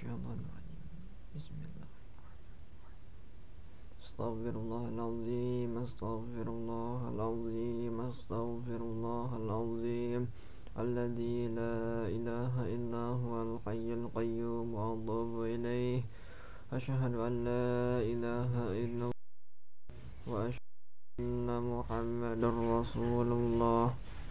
الشيطان الرجيم. بسم الله. أستغفر الله العظيم، أستغفر الله العظيم، أستغفر الله العظيم الذي لا إله إلا هو الحي القيوم وأتوب إليه. أشهد أن لا إله إلا الله وأشهد أن محمدا رسول الله.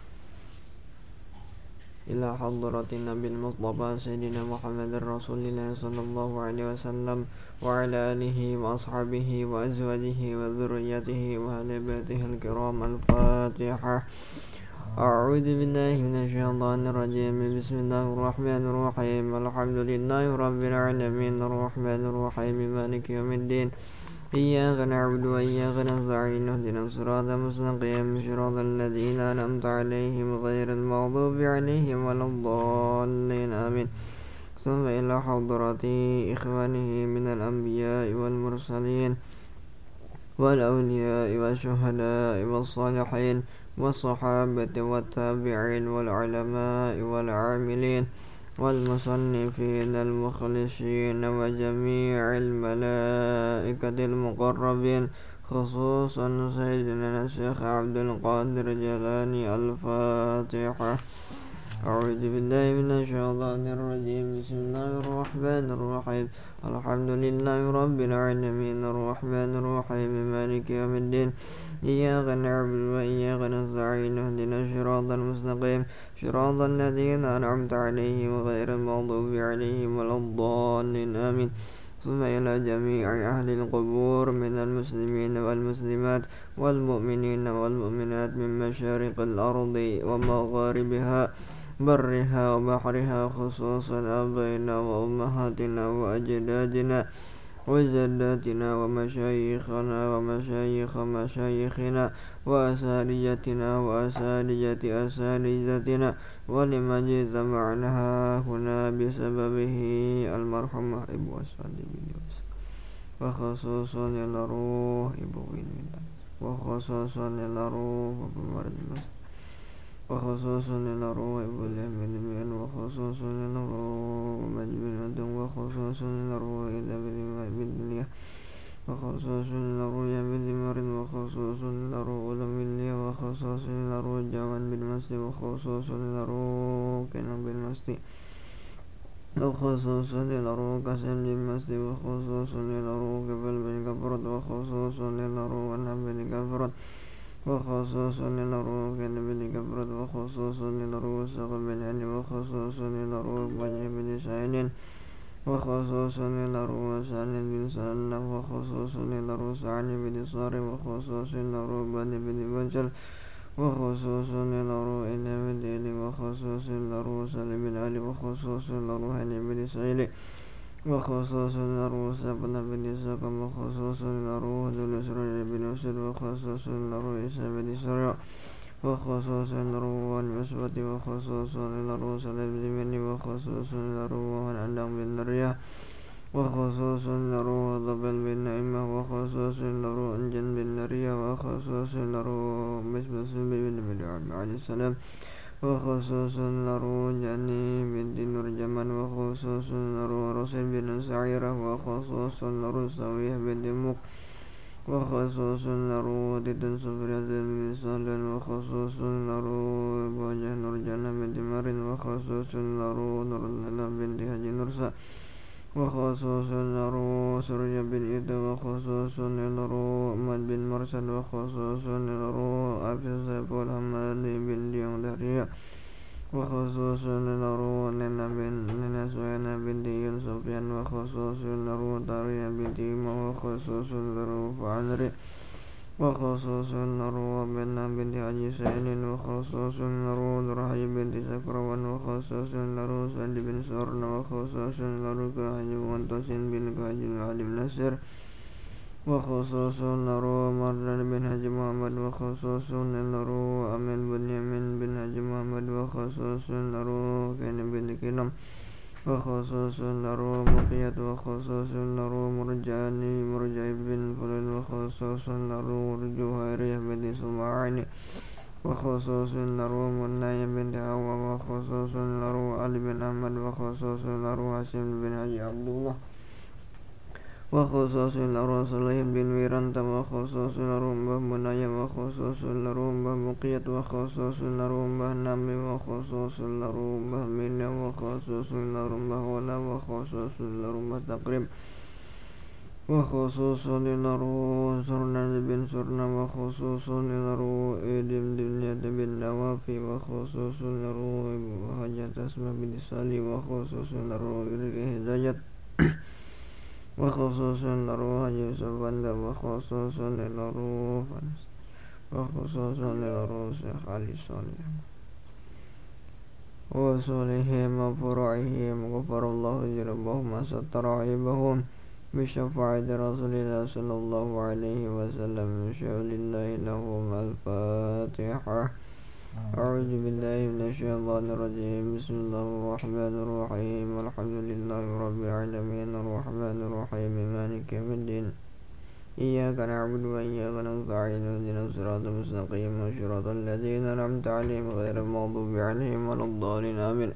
إلى حضرة النبي المصطفى سيدنا محمد رسول الله صلى الله عليه وسلم وعلى آله وأصحابه وأزواجه وذريته وأهل بيته الكرام. الفاتحة. أعوذ بالله من الشيطان الرجيم. بسم الله الرحمن الرحيم. الحمد لله رب العالمين الرحمن الرحيم مالك يوم الدين. إياك نعبد وإياك نستعين اهدنا الصراط المستقيم صراط الذين أنعمت عليهم غير المغضوب عليهم ولا الضالين آمين. ثم إلى حضرة إخوانه من الأنبياء والمرسلين والأولياء والشهداء والصالحين والصحابة والتابعين والعلماء والعاملين والمصنفين المخلصين وجميع الملائكة المقربين، خصوصا سيدنا الشيخ عبد القادر الجيلاني. الفاتحة. أعوذ بالله من الشيطان الرجيم. بسم الله الرحمن الرحيم. الحمد لله رب العالمين الرحمن الرحيم مالك يوم الدين. إياك نعبد وإياك نستعين اهدنا الصراط المستقيم صراط الذين أنعمت عليهم غير المغضوب عليهم ولا الضالين آمين. ثم إلى جميع أهل القبور من المسلمين والمسلمات والمؤمنين والمؤمنات من مشارق الأرض ومغاربها برها وبحرها، خصوصا آبائنا وأمهاتنا وأجدادنا وجداتنا ومشايخنا ومشايخ مشايخنا وأساتذتنا وأساتذة أساتذتنا ولمن اجتمعنا هنا بسببه المرحوم إبو أسعد بن يوسف، وخصوصا للروح إبو وينويتا، وخصوصا للروح أبو مرد المسجد، وخصوصا للروح إبو اليمين بن، وخصوصا للروح مجبن أدم، وخصوصا للروح إذا بالدنيا، وخصوصا للروح يمين مرد، وخصوصا للروح أولم بالله، وخصوصا للروح جوان بالمسجد، وخصوصا للروح كنم بالمسجد، وخصوصا للروح كسم بالمسجد، وخصوصا للروح قبل بالكفرد، وخصوصا للروح أنهم بالكفرد، وخصوصا للروح كنم بالكفرد، وخصوصا للروح سقم بالهن، وخصوصا للروح وجه بالسعين، وخصوصا للروح سعن بالسنة، وخصوصا للروح سعن بالصار، وخصوصا للروح بن بالوجل، وخصوصا للروح إلى بالدين، وخصوصا للروح سلم بالآل، وخصوصا للروح بالسعيل، وخصوصا للروح سبن بالسقم، وخصوصا للروح ذو الأسرع بالأسر، وخصوصا للروح إسا بالسرع، وخصوصا للروح المسوة، وخصوصا للروح سلم بالمن، وخصوصا للروح الأندم بالنرية، وخصوصا للروح ضبل بالنعمة، وخصوصا للروح أنجن بالنرية، وخصوصا للروح مسبس بالبدع عليه السلام، وخصوصا للروح جاني بنت نرجمان، وخصوصا للروح رسل بن سعيرة، وخصوصا للروح سويه بنت مك، وخصوصا للروح تتن سفرية بن سالن، وخصوصا للروح بوجه نرجانة بنت مرين، وخصوصا للروح نرللا بنت حجي نرسا، وخصوصا للروح سرية بن إيدا، وخصوصا للروح أحمد بن مرسل، وخصوصا للروح أبي سيف الحمادي بن ديون دارية، وخصوصا للروح لنا سوينا بنت سفيان، وخصوصا للروح طارية بنت إيمة، وخصوصا للروح فعذري، وخصوصا للروح بنت حجي سعيد، وخصوصا للروح رحي بنت سكروان، وخصوصا للروح سعد بن سورن، وخصوصا للروح كهج وانتسن بن كهج علي بن نسر، وخصوصا للروح مردان بن حج محمد، وخصوصا للروح أمين بن يمين بن حج محمد، وخصوصا للروح كين بن كنم، وخصوصا للروح مقيت، وخصوصا للروح مرجع بن فلل، وخصوصا للروح جوهرية بن سمعاني، وخصوص له مناي بن هوى وخصوص له علي بن أحمد وخصوص له هاشم بن حجي عبد الله وخصوص له صليح بن ويرانت وخصوص له مناي وخصوص له بقية وخصوص له نامي وخصوص له من وخصوص له ولا وخصوص له تقريب وخصوص له سرنا بن سرنا وخصوص له إدم دنيا بن نوافي وخصوص له حاجة اسمه بن سالي وخصوص له هداية وخصوص له حاجة سبند وخصوص له فنس وخصوص له شيخ علي صالح وصالحهم وفرعهم غفر الله ذنوبهم وستر عيبهم بشفاعة رسول الله صلى الله عليه وسلم شاء لله لهم الفاتحة أعوذ بالله من الشيطان الرجيم بسم الله الرحمن الرحيم الحمد لله رب العالمين الرحمن الرحيم مالك يوم الدين إياك نعبد وإياك نستعين اهدنا الصراط المستقيم صراط الذين أنعمت عليهم غير المغضوب عليهم ولا الضالين آمين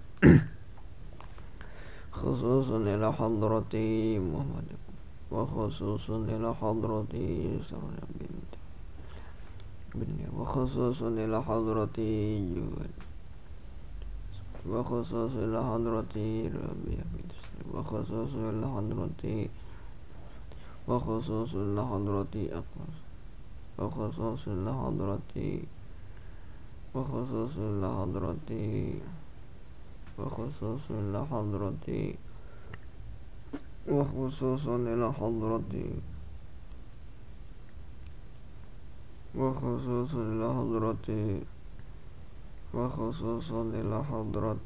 خصوصا إلى حضرة محمد وخصوصا إلى حضرة سرنا بن وخصوصا إلى حضرة جوال وخصوصا إلى حضرة ربيع وخصوصا إلى حضرة وخصوصا إلى حضرة أقمص وخصوصا إلى حضرة وخصوصا إلى حضرة وخصوص إلى حضرة وخصوص إلى حضرة وخصوص إلى حضرة وخصوص إلى حضرة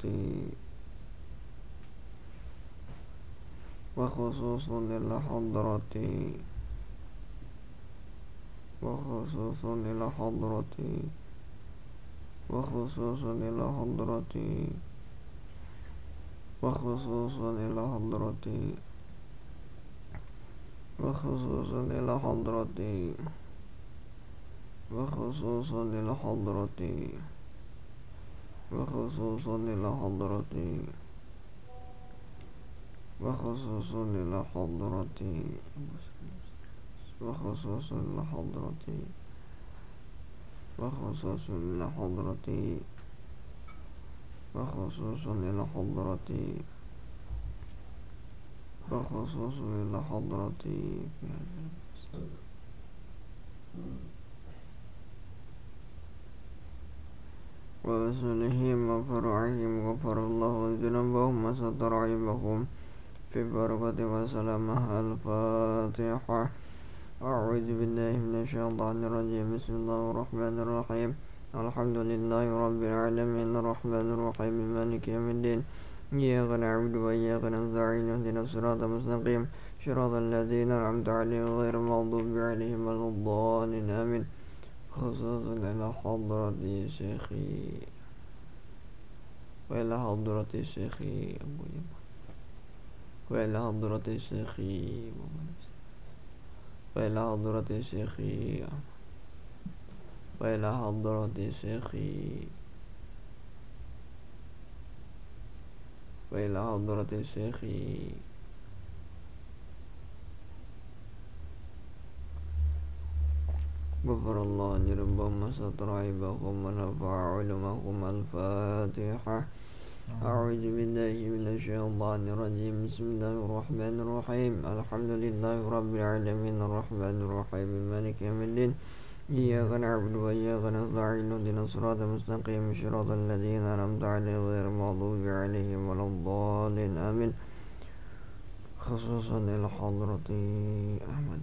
وخصوص إلى حضرة وخصوص إلى حضرة وخصوص إلى حضرة وخصوصا إلى حضرتي وخصوصا إلى حضرتي وخصوصا إلى حضرتي وخصوصا إلى حضرتي وخصوصا إلى حضرتي وخصوصا إلى حضرتي وخصوصا إلى حضرتي وخصوصا إلى حضرتي وخصوصا إلى حضرتي ورسولهم وفرعهم غفر الله ذنوبهم وستر عيبهم في بركة وسلامة الفاتحة أعوذ بالله من الشيطان الرجيم بسم الله الرحمن الرحيم الحمد لله رب العالمين الرحمن الرحيم مالك يوم الدين إياك نعبد وإياك نستعين اهدنا الصراط المستقيم صراط الذين أنعمت عليهم غير المغضوب عليهم ولا الضالين آمين خصوصا إلى حضرة شيخي وإلى حضرة شيخي أبو جمال وإلى حضرة شيخي وإلى حضرة شيخي وإلى حضرة شيخي وإلى حضرة شيخي غفر الله ذنوبهم وستر عيبهم ونفع علمهم الفاتحة أعوذ بالله من الشيطان الرجيم بسم الله الرحمن الرحيم الحمد لله رب العالمين الرحمن الرحيم مالك يوم الدين إياك نعبد وإياك نستعين اهدنا الصراط المستقيم صراط الذين أنعمت عليهم غير المغضوب عليهم ولا الضالين آمين خصوصا إلى حضرة أحمد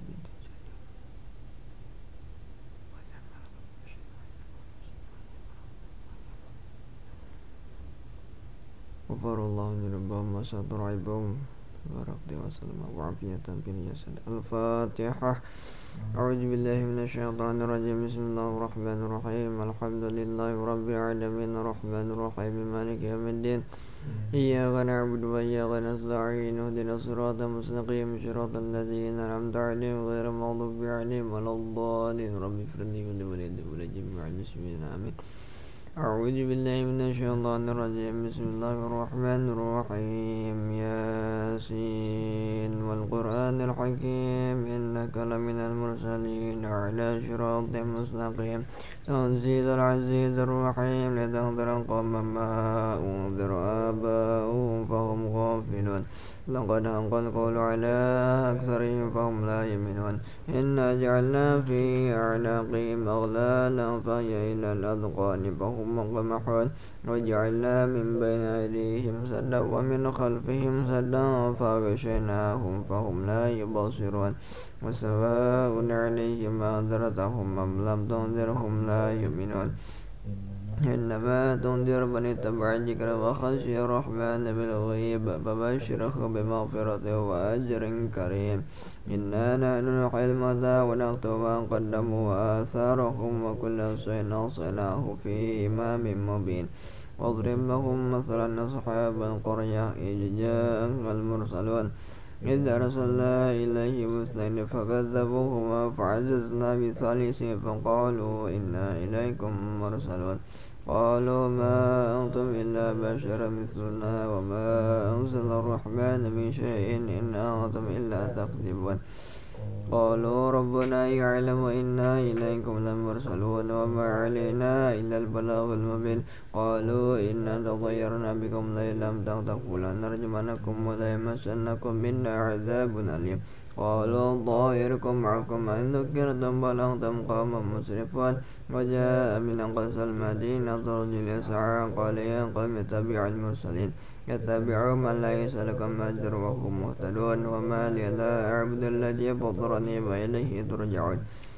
غفر الله ذنوبهم وستر عيبهم ورقد وسلم وعافية في الجسد الفاتحة أعوذ بالله من الشيطان الرجيم بسم الله الرحمن الرحيم الحمد لله رب العالمين الرحمن الرحيم مالك يوم الدين إياك نعبد وإياك نستعين اهدنا الصراط المستقيم صراط الذين أنعمت عليهم غير المغضوب عليهم ولا الضالين رب اغفر لي ولوالدي ولجميع المسلمين آمين. أعوذ بالله من الشيطان الرجيم بسم الله الرحمن الرحيم ياسين والقرآن الحكيم إنك لمن المرسلين على صراط مستقيم تنزيل العزيز الرحيم لتنذر قوما ما أنذر آباؤهم فهم غافلون لقد حق القول على أكثرهم فهم لا يؤمنون إنا جعلنا في أعناقهم أغلالا فهي إلى الأذقان فهم مقمحون وجعلنا من بين أيديهم سدا ومن خلفهم سدا فغشيناهم فهم لا يبصرون وسواء عليهم أنذرتهم أم لم تنذرهم لا يؤمنون إنما تنذر من اتبع الذكر وخشي الرحمن بالغيب فبشره بمغفرة وأجر كريم إنا نحن نحيي الموتى ونكتب ما قدموا وآثارهم وكل شيء أحصيناه في إمام مبين واضرب لهم مثلا أصحاب القرية إذ جاءها المرسلون إذ أرسلنا إليهم اثنين فكذبوهما فعززنا بثالث فقالوا إنا إليكم مرسلون قالوا ما أنتم إلا بشر مثلنا وما أنزل الرحمن من شيء إن أنتم إلا تكذبون قالوا ربنا يعلم إنا إليكم لمرسلون وما علينا إلا البلاغ المبين قالوا إنا تطيرنا بكم لئن لم تغفروا لنرجمنكم وليمسنكم منا عذاب أليم قالوا طائركم معكم إن ذكرتم بل أنتم قوم مسرفون وجاء من أقصى المدينة رجل يسعى قال يا قوم اتبعوا المرسلين يتبعوا من ليس لكم أجر وهم مهتدون وما لي لا أعبد الذي فطرني وإليه ترجعون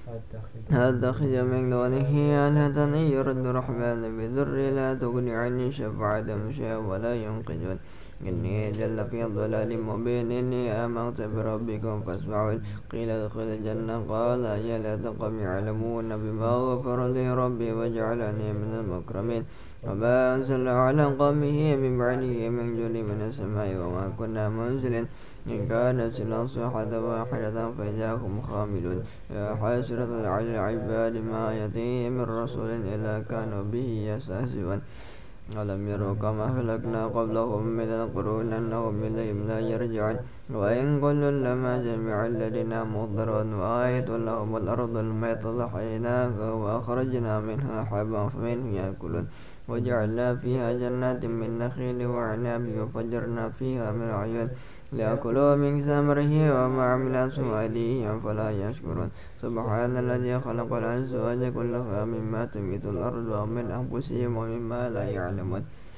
أتخذ من دونه آلهة إن يرد الرحمن بضر لا تغني عني شفاعتهم شيئا ولا ينقذون إني جل في ضلال مبين إني آمنت بربكم فاسمعون قيل ادخل الجنة قال يا ليت قوم يعلمون بما غفر لي ربي وجعلني من المكرمين وما أنزل على قومه من بعده من جند من السماء وما كنا منزلين إن كانت إلا صيحة واحدة فإذا هم خاملون يا حسرة على العباد ما يأتيهم من رسول إلا كانوا به يستهزئون ألم يروا كما أهلكنا قبلهم من القرون أنهم إليهم لا يرجعون وإن كل لما جميع الذين مضرون وآية لهم الأرض الميت أحييناها وأخرجنا منها حبا فمنه يأكلون وجعلنا فيها جنات من نخيل وعناب وفجرنا فيها من عيون ليأكلوا من ثمره وما عملت أيديهم فلا يشكرون سبحان الذي خلق الأزواج كلها مما تنبت الأرض ومن أنفسهم ومما لا يعلمون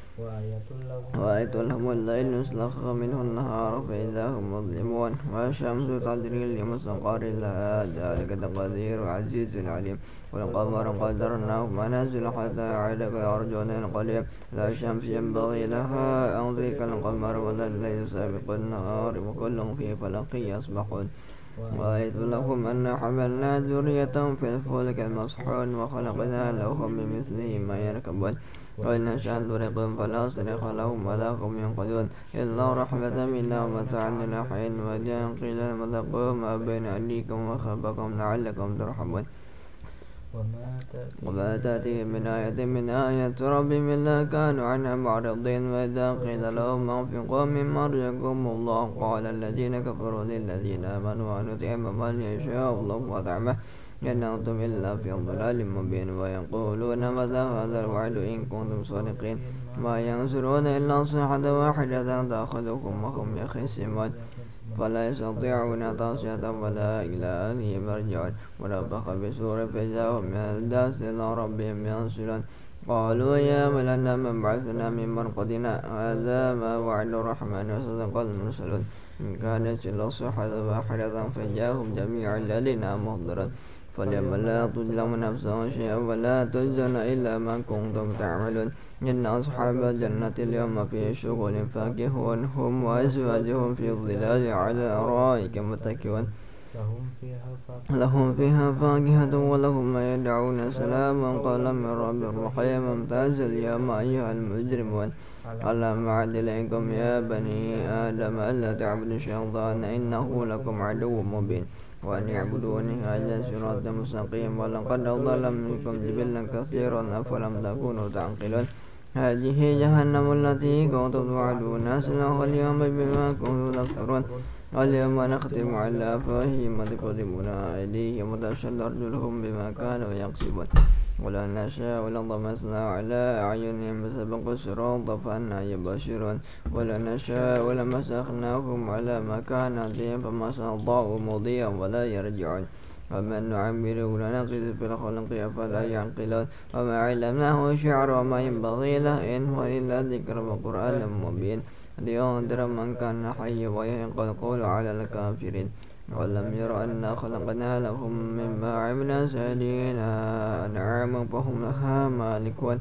وآية لهم الليل يسلخ منه النهار فإذا هم مظلمون والشمس تجري لمستقر لها ذلك تقدير العزيز العليم والقمر قدرناه منازل حتى عاد كالأرجون القديم لا الشمس ينبغي لها أن تدرك القمر ولا الليل سابق النهار وكل في فلك يسبحون وآية لهم أن حملنا ذريتهم في الفلك المصحون وخلقنا لهم من مثله ما يركبون وإن نشأ نغرقهم فلا صريخ لهم ولا هم ينقذون إلا رحمة منا ومتاعا إلى حين وإذا قيل لهم اتقوا ما بين أيديكم وخلفكم لعلكم ترحمون وما تأتيهم من آية من آيات ربهم إلا كانوا عنها معرضين وإذا قيل لهم أنفقوا مما رزقكم الله قال الذين كفروا للذين آمنوا أن نطعم من يشاء الله وطعمه إن أنتم إلا في ضلال مبين ويقولون متى هذا الوعد إن كنتم صادقين ما ينصرون إلا صيحة واحدة تأخذكم وهم يخصمون فلا يستطيعون توصية ولا إلى أهلهم يرجعون ونفخ بسور فإذا هم من الداس إلى ربهم ينصرون قالوا يا ولنا من بعثنا من مرقدنا هذا ما وعد الرحمن وصدق المرسلون إن كانت إلا صيحة واحدة فجاءهم جميع الذين محضرون فاليوم لا تظلم نفس شيئا ولا تجزون إلا ما كنتم تعملون إن أصحاب الجنة اليوم في شغل فاكهون هم وأزواجهم في الظلال على الأرائك متكئون لهم فيها فاكهة ولهم ما يدعون سلاما قولا من رب رحيم ممتاز اليوم أيها المجرمون ألم أعد إليكم يا بني آدم ألا تعبدوا الشيطان إنه لكم عدو مبين وأن يعبدوني هذا صراط مستقيم ولقد أضل منكم جبلا كثيرا أفلم تكونوا تعقلون هذه جهنم التي كنتم توعدون أسلمها اليوم بما كنتم تكفرون اليوم نختم على أفواههم وتكلمنا أيديهم وتشهد أرجلهم بما كانوا يكسبون ولو نشاء لطمسنا على أعينهم فسبقوا الصراط فأنى يبصرون ولو نشاء لمسخناهم على مكانتهم فما استطاعوا مضيا ولا يرجعون ومن نعمره لنقص في الخلق أفلا يعقلون وما علمناه الشعر وما ينبغي له إن هو إلا ذكر وقرآن مبين لينذر من كان حيا ويحق القول على الكافرين ولم ير أنا خلقنا لهم مما عملنا سيدنا أنعاما فهم لها مالكون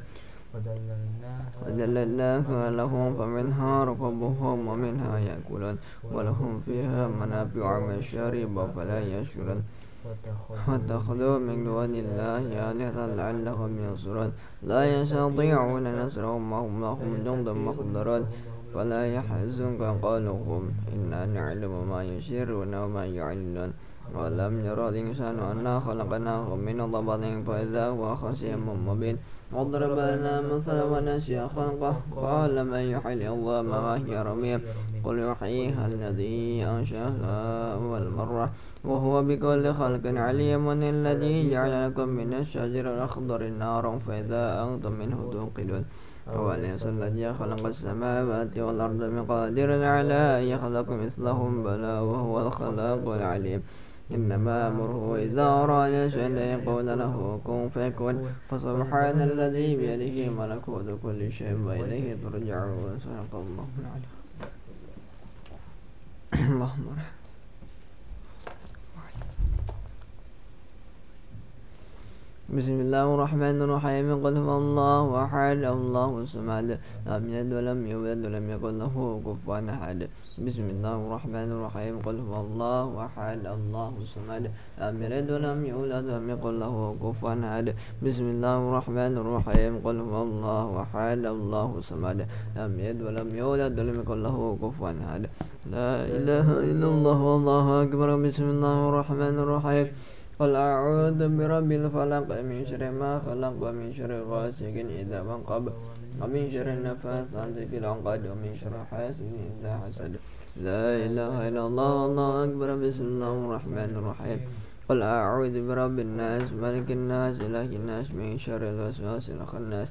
وذللناها لهم فمنها ركوبهم ومنها يأكلون ولهم فيها منافع ومشارب فلا يشكرون واتخذوا من دون الله آلهة لعلهم ينصرون لا يستطيعون نصرهم وهم لهم جند محضرون فلا يحزنك قولهم إنا نعلم ما يسرون وما يعلنون ولم ير الإنسان أنا خلقناه من ضبط فإذا هو خصيم مبين واضرب لنا مثلا ونسي خلقه قال من يحيي العظام وهي رميم قل يحييها الذي أنشأها أول مرة وهو بكل خلق عليم الذي جعل لكم من الشجر الأخضر نارا فإذا أنتم منه توقدون هو الذي خلق السماوات والأرض بقادر على أن يخلق مثلهم بلى وهو الخلاق العليم إنما أمره إذا أراد شيئا يقول له كن فيكون فسبحان الذي بيده ملكوت كل شيء وإليه ترجعون صدق الله العلي اللهم بسم الله الرحمن الرحيم قل هو الله أحد الله الصمد لم يلد ولم يولد ولم يكن له كفوا أحد بسم الله الرحمن الرحيم قل هو الله أحد الله الصمد لم يلد ولم يولد ولم يكن له كفوا أحد بسم الله الرحمن الرحيم قل هو الله أحد الله الصمد لم يلد ولم يولد ولم يكن له كفوا أحد لا إله إلا الله والله أكبر بسم الله الرحمن الرحيم قل أعوذ برب الفلق من شر ما خلق ومن شر غاسق إذا وقب ومن شر النفاثات في العقد ومن شر حاسد إذا حسد لا إله إلا الله والله أكبر بسم الله الرحمن الرحيم قل أعوذ برب الناس ملك الناس إله الناس من شر الوسواس الخناس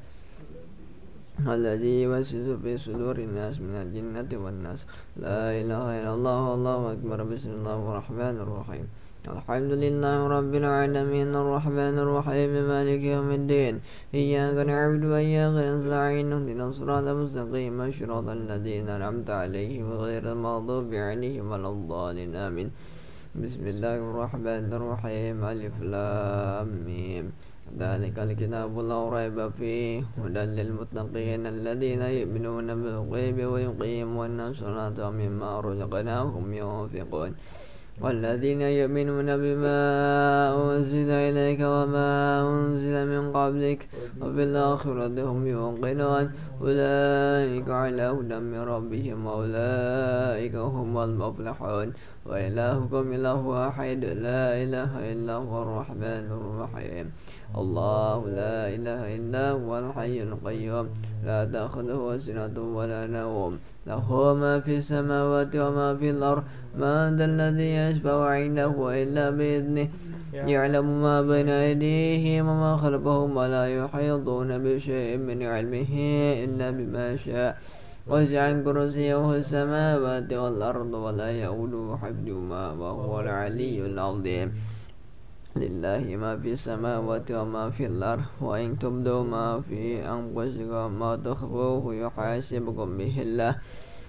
الذي يوسوس في صدور الناس من الجنة والناس لا إله إلا الله والله أكبر بسم الله الرحمن الرحيم الحمد لله رب العالمين الرحمن الرحيم مالك يوم الدين إياك نعبد وإياك نستعين اهدنا الصراط المستقيم صراط الذين أنعمت عليهم غير المغضوب عليهم ولا الضالين آمين بسم الله الرحمن الرحيم ألف لام ميم ذلك الكتاب لا ريب فيه هدى للمتقين الذين يؤمنون بالغيب ويقيمون الصلاة ومما رزقناهم ينفقون والذين يؤمنون بما أنزل إليك وما أنزل من قبلك وبالآخرة هم يوقنون أولئك على هدى من ربهم وأولئك هم المفلحون وإلهكم إله واحد لا إله إلا هو الرحمن الرحيم الله لا إله إلا هو الحي القيوم لا تأخذه سنة ولا نوم له ما في السماوات وما في الأرض من ذا الذي يشفع عنده إلا بإذنه يعلم ما بين أيديهم وما خلفهم ولا يحيطون بشيء من علمه إلا بما شاء وسع كرسيه السماوات والأرض ولا يؤوده حفظهما وهو العلي العظيم لله ما في السماوات وما في الأرض وإن تبدوا ما في أنفسكم ما تخفوه يحاسبكم به الله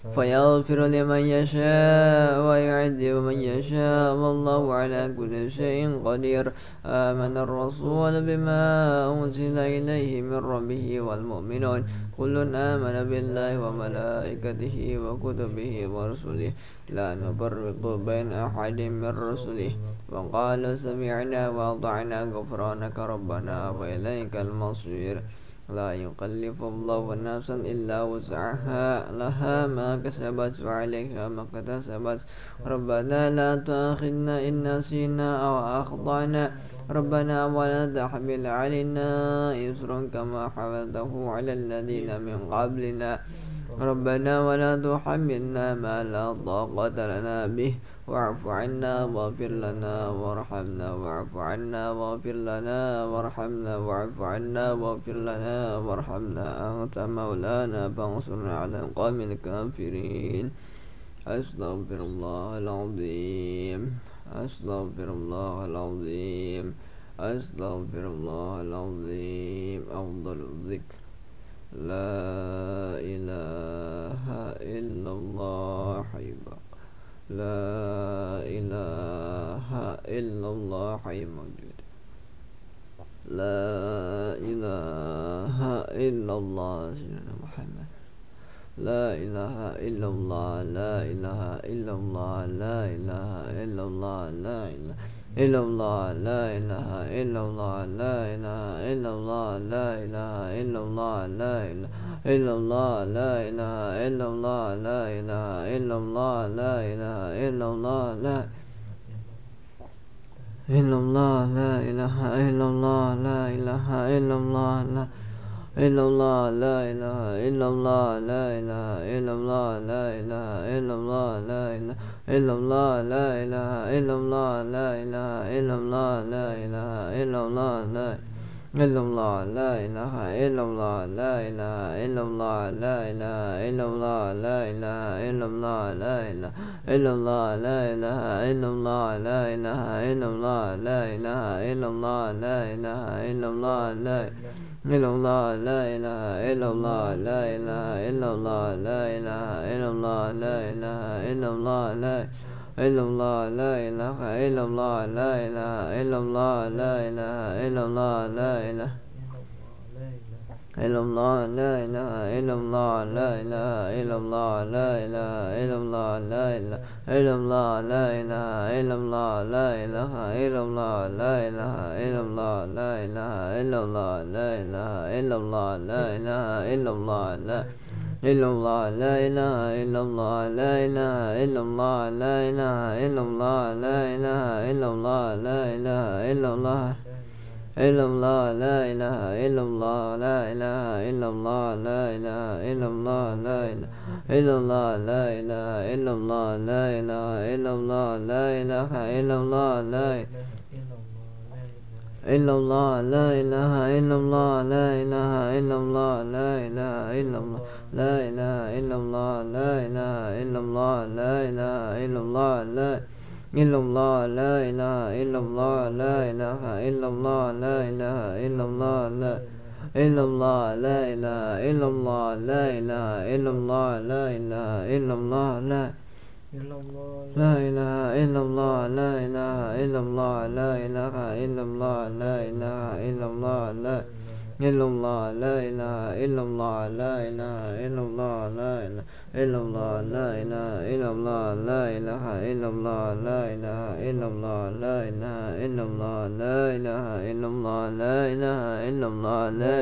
فيغفر لمن يشاء ويعذب من يشاء والله على كل شيء قدير. آمن الرسول بما أنزل إليه من ربه والمؤمنون كل آمن بالله وملائكته وكتبه ورسله لا نفرق بين أحد من رسله وقال سمعنا وأطعنا غفرانك ربنا وإليك المصير. لا يكلف الله نفسا إلا وسعها لها ما كسبت وعليها ما اكتسبت ربنا لا تؤاخذنا إن نسينا أو أخطأنا ربنا ولا تحمل علينا إصرا كما حملته على الذين من قبلنا ربنا ولا تحملنا ما لا طاقة لنا به واعف عنا واغفر لنا وارحمنا واعف عنا واغفر لنا وارحمنا واعف عنا واغفر لنا وارحمنا أنت مولانا فانصرنا على القوم الكافرين. أستغفر الله العظيم أستغفر الله العظيم أستغفر الله العظيم. أفضل الذكر لا إله إلا الله حي لا إله إلا الله حي موجود لا إله إلا الله سيدنا محمد لا إله إلا الله لا إله إلا الله لا إله إلا الله لا إله إلا الله لا إله إلا الله لا إله إلا الله لا إله إلا الله لا إله إلا الله لا إله إلا الله لا إله إلا الله لا إله إلا الله لا إلا الله لا إله إلا الله لا إله إلا الله لا إلا الله لا إله إلا الله لا إله إلا الله لا إله إلا الله لا إله إلا الله لا إله إلا الله لا إله إلا الله لا إله إلا الله لا إلا الله لا إله إلا الله لا إله إلا الله لا إله إلا الله لا إله إلا الله لا إله إلا الله لا إله إلا الله لا إله إلا الله لا إله إلا الله لا إله إلا الله لا إلا الله لا إله إلا الله لا إله إلا الله لا إله إلا الله لا إله إلا الله لا إلا الله لا إله إلا الله لا إله إلا الله لا إله إلا الله لا إله إلا الله لا إله إلا الله لا إله إلا الله لا إله إلا الله لا إله إلا الله لا إله إلا الله لا إله إلا الله لا إله إلا الله لا إله إلا الله لا إله إلا الله لا إله إلا الله لا إلا الله لا إله إلا الله لا إله إلا الله لا إله إلا الله لا إله إلا الله لا إله إلا الله إلا الله لا إله إلا الله لا إله إلا الله لا إله إلا الله لا إله إلا الله لا إله إلا الله لا إله إلا الله لا إله إلا الله لا إلا الله لا إله إلا الله لا إله إلا الله لا إله إلا الله لا إله إلا الله لا إله إلا الله لا إله إلا الله لا إلا الله لا إله إلا الله لا إله إلا الله لا إله إلا الله لا إلا الله لا إله إلا الله لا إله إلا الله لا إله إلا الله لا لا إله إلا الله لا إله إلا الله لا إله إلا الله لا إله إلا الله لا إلا الله لا إله إلا الله لا إله إلا الله لا إله إلا الله لا إله إلا الله لا إله إلا الله لا إله إلا الله لا إله إلا الله لا إله إلا الله لا إله إلا الله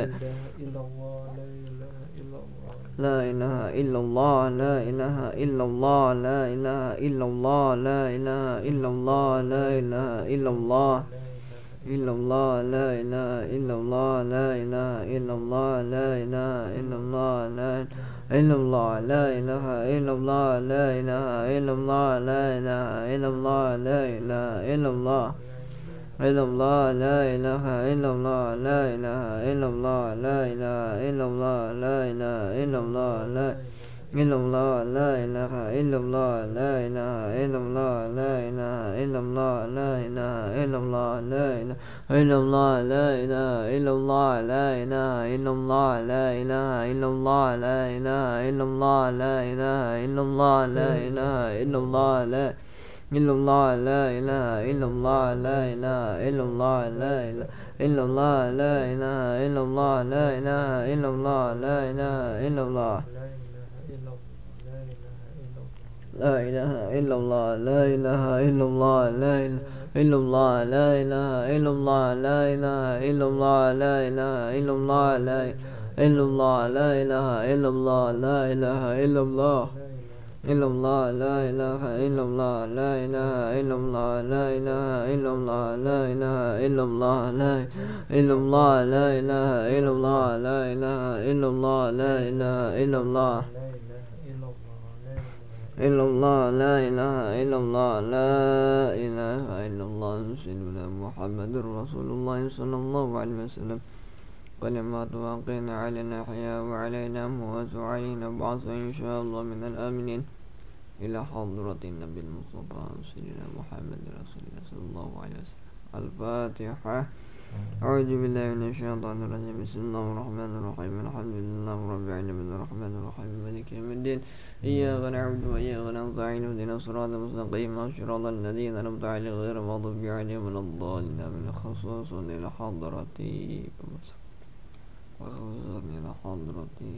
لا إله إلا الله لا إله إلا الله لا إله إلا الله لا إله إلا الله لا إله إلا الله إلا الله لا إله إلا الله لا إله إلا الله لا إله إلا الله لا إلا الله لا إله إلا الله لا إله إلا الله لا إله إلا الله لا إله إلا الله إلا الله لا إله إلا الله لا إله إلا الله لا إله إلا الله لا إله إلا الله لا إلا الله لا إله إلا الله لا إله إلا الله لا إله إلا الله لا إله إلا الله لا إله إلا الله لا إله إلا الله لا إله إلا الله لا إله إلا الله لا إله إلا الله لا إله إلا الله لا إله إلا الله لا إلا الله لا إله إلا الله لا إله إلا الله لا إله إلا الله لا إله إلا الله لا إله إلا الله لا إله إلا الله لا إله إلا الله لا إله إلا الله لا إله إلا الله لا إله إلا الله لا إله إلا الله لا إله إلا الله لا إلا الله لا إله إلا الله لا إله إلا الله إلا الله لا إله إلا الله لا إله إلا الله لا إله إلا الله لا إله إلا الله لا إلا الله لا إله إلا الله لا إله إلا الله لا إله إلا الله إلا الله لا إله إلا الله لا إله إلا الله سيدنا محمد رسول الله صلى الله عليه وسلم كلمات واقعنا علينا حياة وعلينا موت وعلينا بعث إن شاء الله من الآمنين إلى حضرة النبي المصطفى سيدنا محمد رسول الله صلى الله عليه وسلم. الفاتحة. أعوذ بالله من الشيطان الرجيم. بسم الله الرحمن الرحيم. الحمد لله رب العالمين الرحمن الرحيم مالك يوم الدين. إياك نعبد وإياك نستعين اهدنا الصراط المستقيم صراط الذين أنعمت عليهم غير المغضوب عليهم ولا الضالين آمين. خصوصا إلى حضرتي إلى حضرتي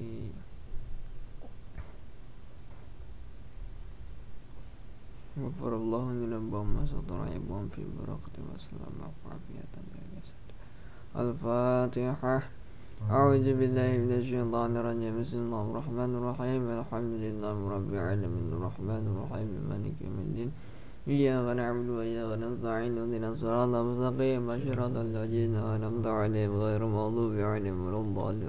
غفر الله لنبهم ما سطر عيبهم في بركة والسلام وعافية جسد. الفاتحة. أعوذ بالله من الشيطان الرجيم. بسم الله الرحمن الرحيم. الحمد لله رب العالمين الرحمن الرحيم مالك يوم الدين. إياك نعبد وإياك نستعين اهدنا الصراط المستقيم صراط الذين أنعمت عليهم غير المغضوب عليهم ولا الضالين.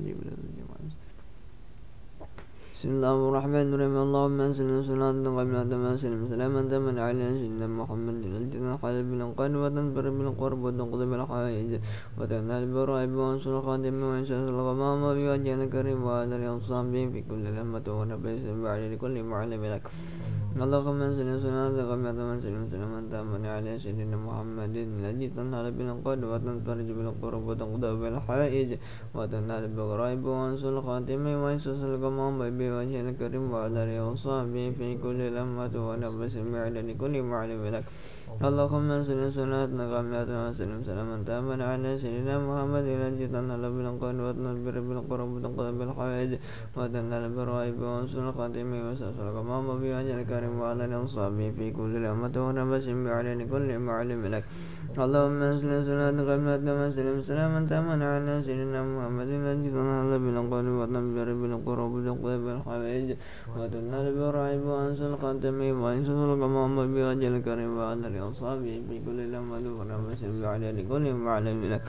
بسم الله الرحمن الرحيم. اللهم صل وسلم على سلام تمن على سيدنا محمد الجنة حلب بالقلب وتنبر بالقرب وتنقضي بالحوائج وتنال بالرائب وانصر خادم وانشاء الغمام وبوجه الكريم وعلى الأصحاب في كل لمة ونبيس بعد لكل معلم لك. اللهم صل وسلم تمن على سيدنا محمد الذي تنال بالقلب وتنفرج بالقرب وتنقضي بالحوائج وتنال بالرائب وانصر خادم وانشاء الغمام وجه الكريم وعلى وصحبه في كل لمة ونفس بعد لكل معلم لك. اللهم صل صلاتنا كاملة وسلم سلاما تاما على سيدنا محمد الذي تنال بالقول وتنبر بالقرب وتنقضي بالحوائج وتنال بالرائب وانصر خاتمه وسأسر الغمام بوجه الكريم وعلى وصحبه في كل لمة ونفس بعد لكل معلم لك. اللهم صل صلاتنا كاملة وسلم سلاما تاما على سيدنا محمد الذي تنال بالقول وتنبر بالقرب وتنقضي بالحوائج وتنال بالرائب وانصر خاتمه وسأسر الغمام بوجه الكريم وعلى وصحبه في كل لمة ونفس بعد لكل معلم لك.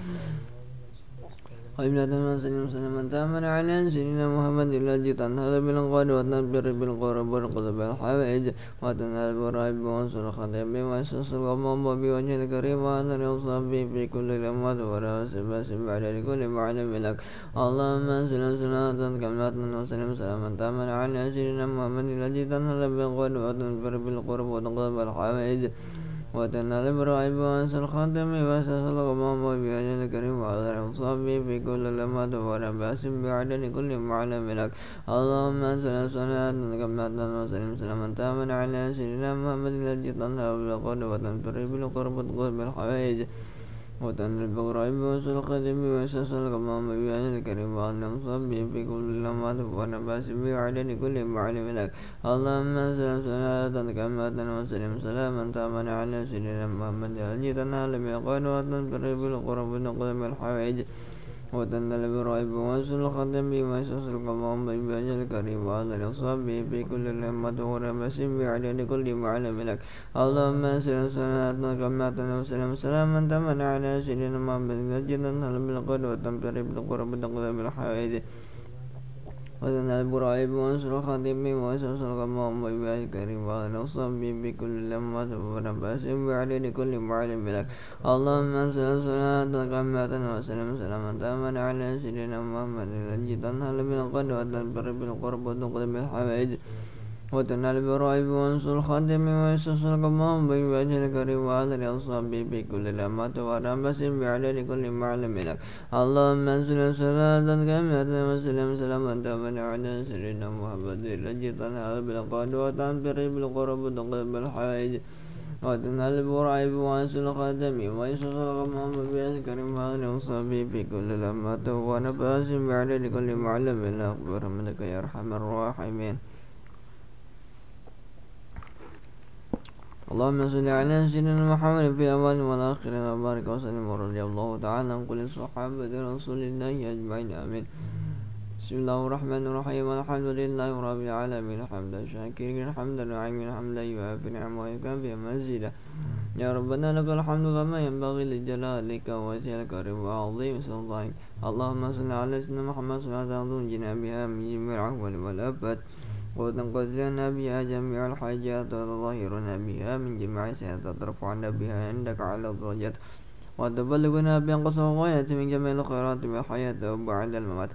قبلة وسلم سلما تاما على سيدنا محمد الذي تنهض بالقول وتنبر بالقرب وتنقضي بالحوائج وتنال بالرائب وانصر خاتمه وسأسر الغمام بوجه الكريم وعلى وصحبه في كل لمة ونفس بعد لكل معلم لك. اللهم صل صلاة كاملة وسلم سلاما تاما على سيدنا محمد الذي تنهض بالقول وتنبر بالقرب وتنقضي بالحوائج وتنال بالرائب وانصر خاتمه وسأسر الغمام بوجه الكريم وعلى وصحبه في كل لمة ونفس بعد لكل معلم لك. اللهم صل صلاة كاملة وسلم سلاما تاما على سيدنا محمد الذي تنهض بالقول وتنبر بالقرب وتنقضي بالحوائج وتنال بالرائب وانصر خاتمه وسأسر الغمام بوجه الكريم وعلى وصحبه في كل لمة ونفس بعد لكل معلم لك. اللهم صل صلاة كاملة وسلم سلاما تاما على سيدنا محمد الذي تنال بالقول وتنبر بالقرب وتنقضي بالحوائج وتنال بالرائب وانصر خاتمه وسأسر الغمام بوجه الكريم وعلى وصحبه في كل لمة ونفس بعد لكل معلم لك. اللهم صل صلاة كاملة وسلم سلاما تاما على سيدنا محمد الذي تنال بالقول وتنبر بالقرب وتنقضي بالحوائج وتنال بالرائب وانصر خاتمه وسأسر الغمام بوجه الكريم وعلى وصحبه في كل لمة ونفس بعد لكل معلم لك. اللهم صل صلاة كاملة وسلم سلاما تاما على سيدنا محمد الذي تنال بالقول وتنبر بالقرب وتنقضي بالحوائج وتنال برائب وانصر الخاتم ويستصر قمام بوجه الكريم وآل أصحابه في كل لمة ورمس بعدد كل معلم لك اللهم انزل صلاة كاملة وسلم سلاما تاما على سيدنا محمد الذي تنال بالقاد وتنبر بالقرب وتقبل الحائج وتنال برائب وانصر الخاتم ويستصر قمام بوجه الكريم وآل أصحابه في كل لمة ونفس بعدد كل معلم لك برحمتك يا أرحم الراحمين. اللهم صل على سيدنا محمد في الأول والآخرين وبارك وسلم ورضي الله تعالى عن كل صحابة رسول الله أجمعين آمين. بسم الله الرحمن الرحيم الحمد لله رب العالمين حمدا شاكرين حمدا نعيم حمدا يوافي نعمه ويكافئ مزيدا يا ربنا لك الحمد كما ينبغي لجلالك ووجهك الكريم وعظيم سلطانك. اللهم صل على سيدنا محمد صلاة تنجينا بها من جميع الأهوال والآفات وتنقذ لنا بها جميع الحاجات وتظهرنا بها من جميع السيئات وترفعنا بها عندك على الدرجات وتبلغنا بأقصى الغايات من جميع الخيرات في الحياة وبعد الممات.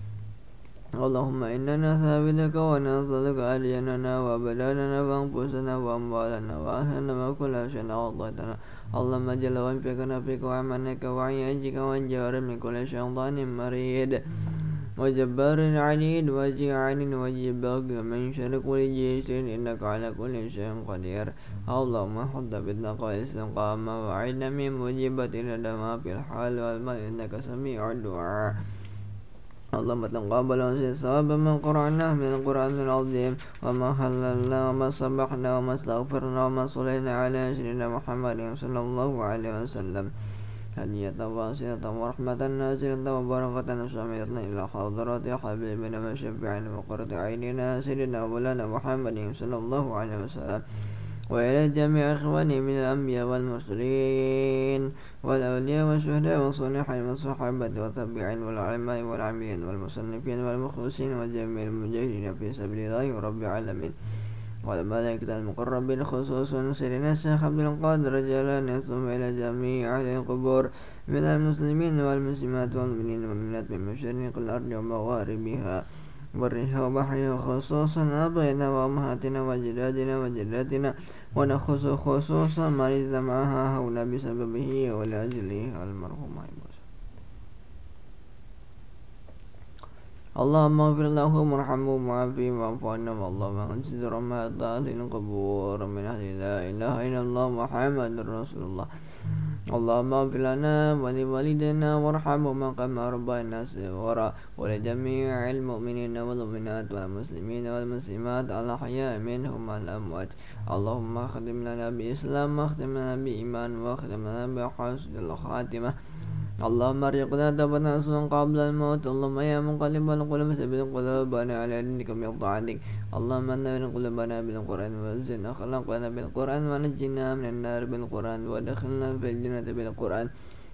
اللهم إنا نستعبدك ونسألك أدياننا وبلادنا وأنفسنا وأموالنا وأهلنا وكل شيء أعطيتنا. اللهم جل وانفقنا فيك وعمنك وعن يجيك وانجار من كل شيطان مريد وجبار عنيد وجيعان وجبار من شر كل جيش إنك على كل شيء قدير. اللهم حط بالتقوى استقامة وعنا من مجيبة الندم في الحال والمال إنك سميع الدعاء. اللهم تقبل ثواب ما قرأناه من القرآن العظيم وما هللنا وما سبحنا وما استغفرنا وما صلينا على سيدنا محمد صلى الله عليه وسلم هدية واصلة ورحمة نازلة وبركة شاملة إلى حضرات حبيبنا وشفيعنا وقرة عيننا سيدنا مولانا محمد صلى الله عليه وسلم وإلى جميع إخواني من الأنبياء والمرسلين والأولياء والشهداء والصالحين والصحابة والتابعين والعلماء والعاملين والمصنفين والمخلصين وجميع المجاهدين في سبيل الله رب العالمين والملائكة المقربين خصوصا سيدنا الشيخ عبد القادر جيلاني ثم إلى جميع أهل القبور من المسلمين والمسلمات والمؤمنين والمؤمنات من مشارق الأرض ومغاربها برها وبحرها خصوصا أبائنا وأمهاتنا وجدادنا وجداتنا ونخص خصوصا من اجتمعها هنا بسببه ولأجله المرحوم. اللهم اغفر له وارحمه وعافيه واعف عنه اللهم انزل رحمة أهل القبور من أهل لا إله إلا الله محمد رسول الله. اللهم اغفر لنا ولوالدينا وارحمهما كما ربيانا صغارا ولجميع المؤمنين والمؤمنات والمسلمين والمسلمات الأحياء منهم والأموات. اللهم اختم لنا بإسلام واختم لنا بإيمان واختم لنا بحسن الخاتمة. اللهم ارزقنا توبة نصوحا قبل الموت. اللهم يا مقلب القلوب ثبت قلوبنا على دينك بطاعتك. اللهم نور قلوبنا بالقرآن وزن أخلاقنا بالقرآن ونجنا من النار بالقرآن وادخلنا في الجنة بالقرآن.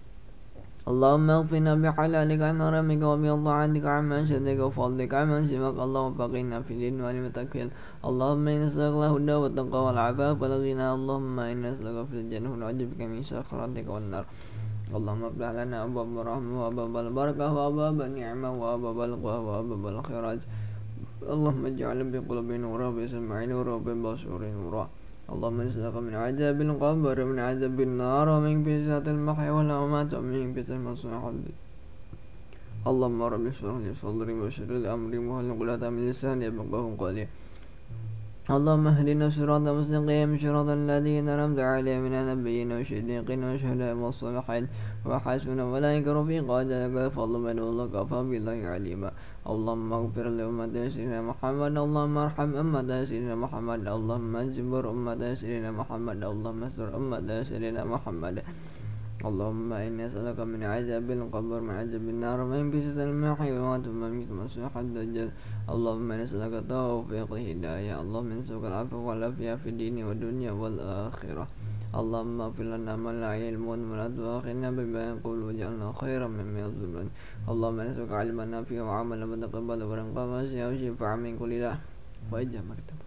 اللهم اغفرنا بحلالك عن حرامك وبطاعتك عمن شدك وفضلك عمن سواك. اللهم فقنا في الدين والمتكل. اللهم إنا نسألك الهدى والتقوى والعفاف والغنى. اللهم إنا نسألك في الجنة ونعوذ بك من سخرتك والنار. اللهم افتح لنا أبواب الرحمة وأبواب البركة وأبواب النعمة وأبواب القوة وأبواب الخيرات. اللهم اجعل بقلوبنا نورا وبسمعنا نورا وببصرنا نورا. اللهم نسألك من عذاب القبر ومن عذاب النار ومن فتنة المحيا والممات ومن فتنة المصيح. اللهم رب اشرح لي صدري ويسر لي أمري واحلل عقدة من لساني يفقهوا قولي. اللهم اهدنا الصراط المستقيم صراط الذين أنعمت عليهم من النبيين والصديقين والشهداء والصالحين وحسن أولئك رفيقا ذلك الفضل من الله وكفى بالله عليما. اللهم اغفر لأمة سيدنا محمد. اللهم ارحم أمة سيدنا محمد. اللهم اجبر أمة سيدنا محمد. اللهم استر أمة سيدنا محمد. اللهم إني أسألك من عذاب القبر من عذاب النار ومن فتنة المحيا والممات ومن فتنة المسيح الدجال. اللهم نسألك التوفيق والهداية. اللهم نسألك العفو والعافية في الدين والدنيا والآخرة. اللهم اغفر لنا من لا علم ولا تؤاخذنا بما يقول واجعلنا خيرا مما يظلمون. اللهم نسألك علما نافعا وعملا متقبلا ورزقا واسعا وشفاعا من كل داء وإجابة مكتوبة.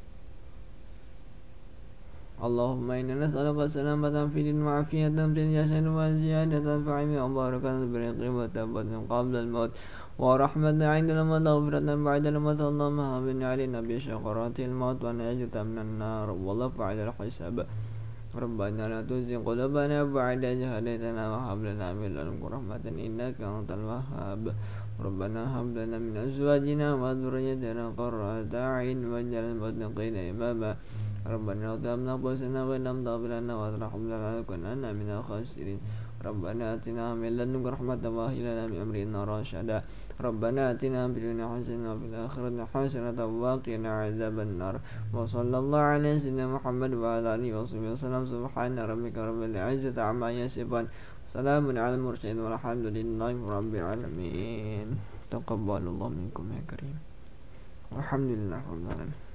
اللهم إنا نسألك السلامة في الدين وعافية في الجسد وزيادة في العلم وبركة في الرزق وتوبة قبل الموت ورحمة عندنا ومغفرة بعد الموت اللهم هون علينا بشقرات الموت ونجد من النار والله فعل الحساب ربنا لا تزغ قلوبنا بعد إذ هديتنا وهب لنا من لدنك رحمة إنك أنت الوهاب ربنا هب لنا من أزواجنا وذريتنا قرة أعين واجعلنا للمتقين إماما ربنا لا تهب أنفسنا وإن لم تغفر لنا وترحمنا لنكونن من الخاسرين ربنا آتنا من لدنك رحمة وهب لنا من أمرنا رشدا ربنا آتنا في الدنيا حسنة وفي الآخرة حسنة وقنا عذاب النار وصلى الله على سيدنا محمد وعلى آله وصحبه وسلم سبحان ربك رب العزة عما يصفون سلام على المرسلين والحمد لله رب العالمين تقبل الله منكم يا كريم والحمد لله رب العالمين.